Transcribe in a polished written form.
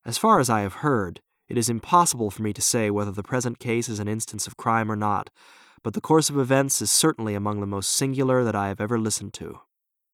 As far as I have heard, it is impossible for me to say whether the present case is an instance of crime or not, but the course of events is certainly among the most singular that I have ever listened to.